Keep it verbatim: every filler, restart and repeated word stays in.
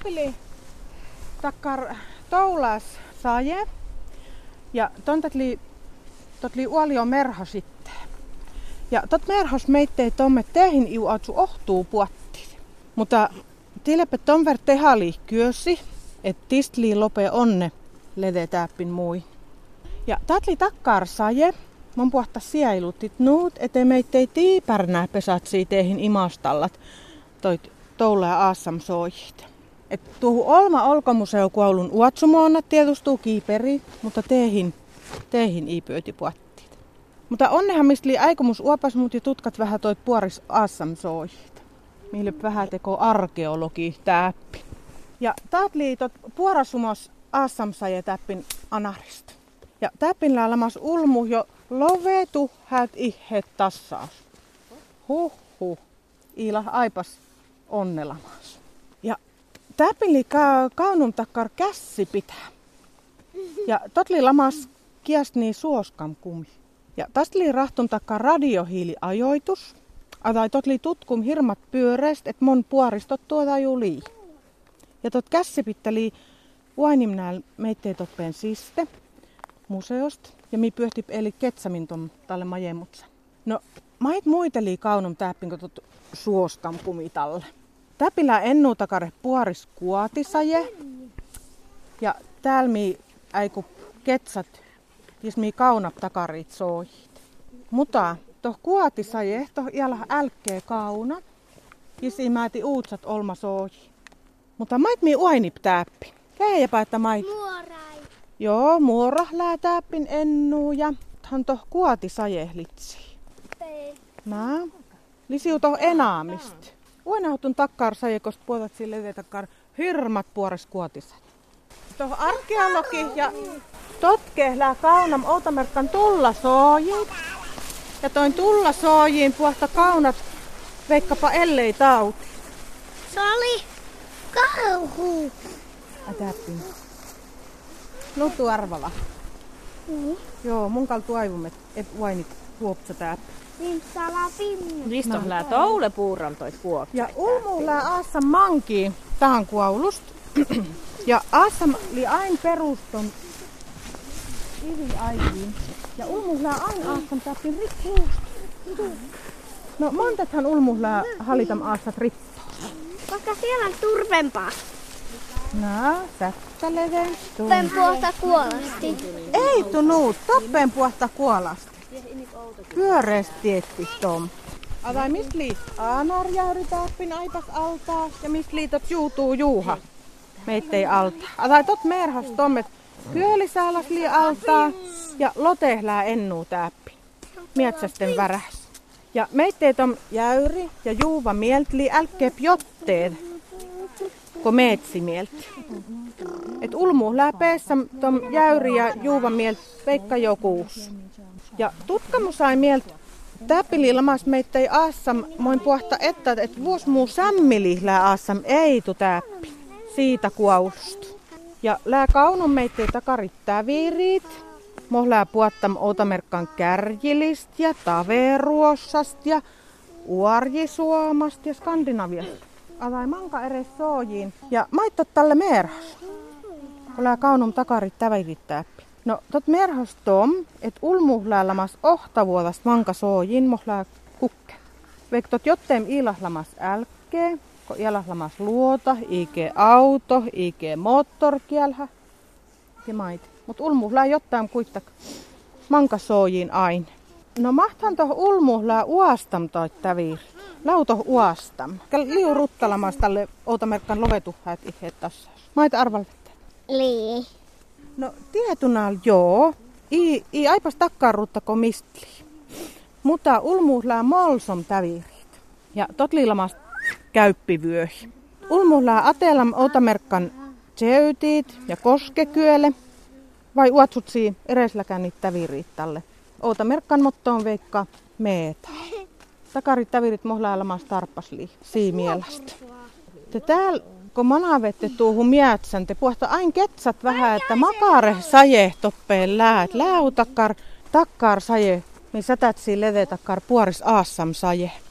täpili takkar toulas saje ja tontatli totli uolio merha sitten. Ja tot merhos meittei tomme tehin iu atsu ohtuu puottiin. Mutta tilepä ton ver tehali kyösi, et tistli lope onne lede täppin mui. Ja tatli takkar saje, mon puhta sielutit nuut, ete meittei tiipärnää pesatsi tehin imastallat toit toula ja aassam soijit. Et tuohon Olma Olkomuseukoulun uotsumoonna tietustuu kiiperi, mutta tehin, tehin ei pyöti puottiit. Mutta onnehan mistä li aikomus uopas mut ja tutkat vähän toit puoris aassam soijit. Mille vähän teko arkeologi täppi. Ja taat liitot puorasumos aassam saje täppin anarista. Ja täppin laalamas ulmu jo lovetu häät ihet tassaus. Huh huh. Iila aipas onnelamas. Ja täpili ka- kaunun takkar kässi pitää. Ja totli lamas kiestni suoskam kumi. Ja tästä rahtun takkar radiohiiliajoitus. Atai totli tutkum hirmat pyöreist, et mon puoristot tuota julii. Ja tot kässi pitäli uainimnääl meittei toppeen siste museosta. Ja mi pyöhti eli ketsamin ton tälle majemutsa. No, mait muiteli kaunum täppin, kun tot suoskam kumi talle. Täpillä ennuu takare puoris kuotisaje. Ja täällä mi äiku ketsat, jes mi kaunap takarit soojit. Mutta toh kuotisaje, toh iällä älkkee kauna. Jes i määti uutsat olma sooji. Mutta mait mi uainip täppi. Käijäpä, että mait. Muorai. Joo, muora lää täppin ennuu ja hän toh kuotisaje litsi. Nää. Lisiu toh enaamist. Uenautun takkar sajekost puotat sille takkar hirmat puores kuotisat. Toh arkeologi ja totke lää kaunam outamerkkan tulla soojin. Ja toin tulla soojiin puhta kaunat veikkapa ellei tauti. Se oli kauhu. Täppin. Nutu arvala. Mm. Joo, mun kaltu aivumet et uainit huopsa täppin. Niin salapinnu. Niistä on lää toule puurantoit kuopsa. Ja ulmu lää aassa manki tähän kuaulust. Ja aassa li ain peruston ivi aiviin. Ja ulmu lää ain aassa täppin rikkuust. No montathan ulmu lää halitam aastat rippaa. Koska siellä on turvempaa. Nää, sättäleven. Turven puolta kuolasti. Ei tunut, toppen puolta kuolasti. Pyöreästi tietti tom. Atai mist liit aanarjäyri täppin aipas altaa ja mist liitot juutuu juuha meittei alta. Atai tot merhas tommet kyölisääläs lii altaa ja lotehlää ennuu täppi. Mietsästen väräs. Ja meittei tom jäyri ja juuva mieltli älkkeep jotteet, ko meetsi mielti. Et ulmu läpeessä tom jäyri ja juuva mielt veikka jokuus. Ja tutkamu sai mieltä täpili lamas meittei aassam moin puhta että et vuos muu sämmili lää aassam ei tu täppi. Siitä kuaulusta. Ja lää kaunun meittei takarit täviriit. Moh lää puottam outamerkkan kärjilist ja taveruossast ja uarjisuomast ja Skandinaviasta. Atai manka eres soojiin. Ja maittot tälle merhas. Kun lää kaunun takarit täviriit täppi. No, tot merhos tom, et ulmu lamas ohtavuolast manka soojin mohlaa kukke. Veik tot jotteem ilahlamas älkkee, ko ilahlamas luota, ike auto, ike moottorkielhä ja mait. Mut ulmu lää jottain kuittak manka soojin aine. No mahtan toh ulmu lää uastam toit täviir. Lauto uastam. Liu ruttalamas tälle outamerkkan lovetuhäät ihet tässä. Maita arvalvette. Lii. No tietunal joo. I, i aipas takkaruuttako mistli. Mutta ulmuuslää molsom tävirit. Ja totlilamas käyppivyöhi. Ulmuuslää atelam outamerkkan tseytit ja koskekyöle. Vai uatsutsi eresläkään niitä täviriit tälle. Outamerkkan mottoon veikka meeta. Takarit tävirit mohlaa lamas tarppasli siimielasta. Te täällä kun manavette tuohon mietsän, te puhta ain ketsat vähän, että makare saje toppeen läät. Läu takkar, takkar saje, niin sätät siinä leve takkar puoris aassam saje.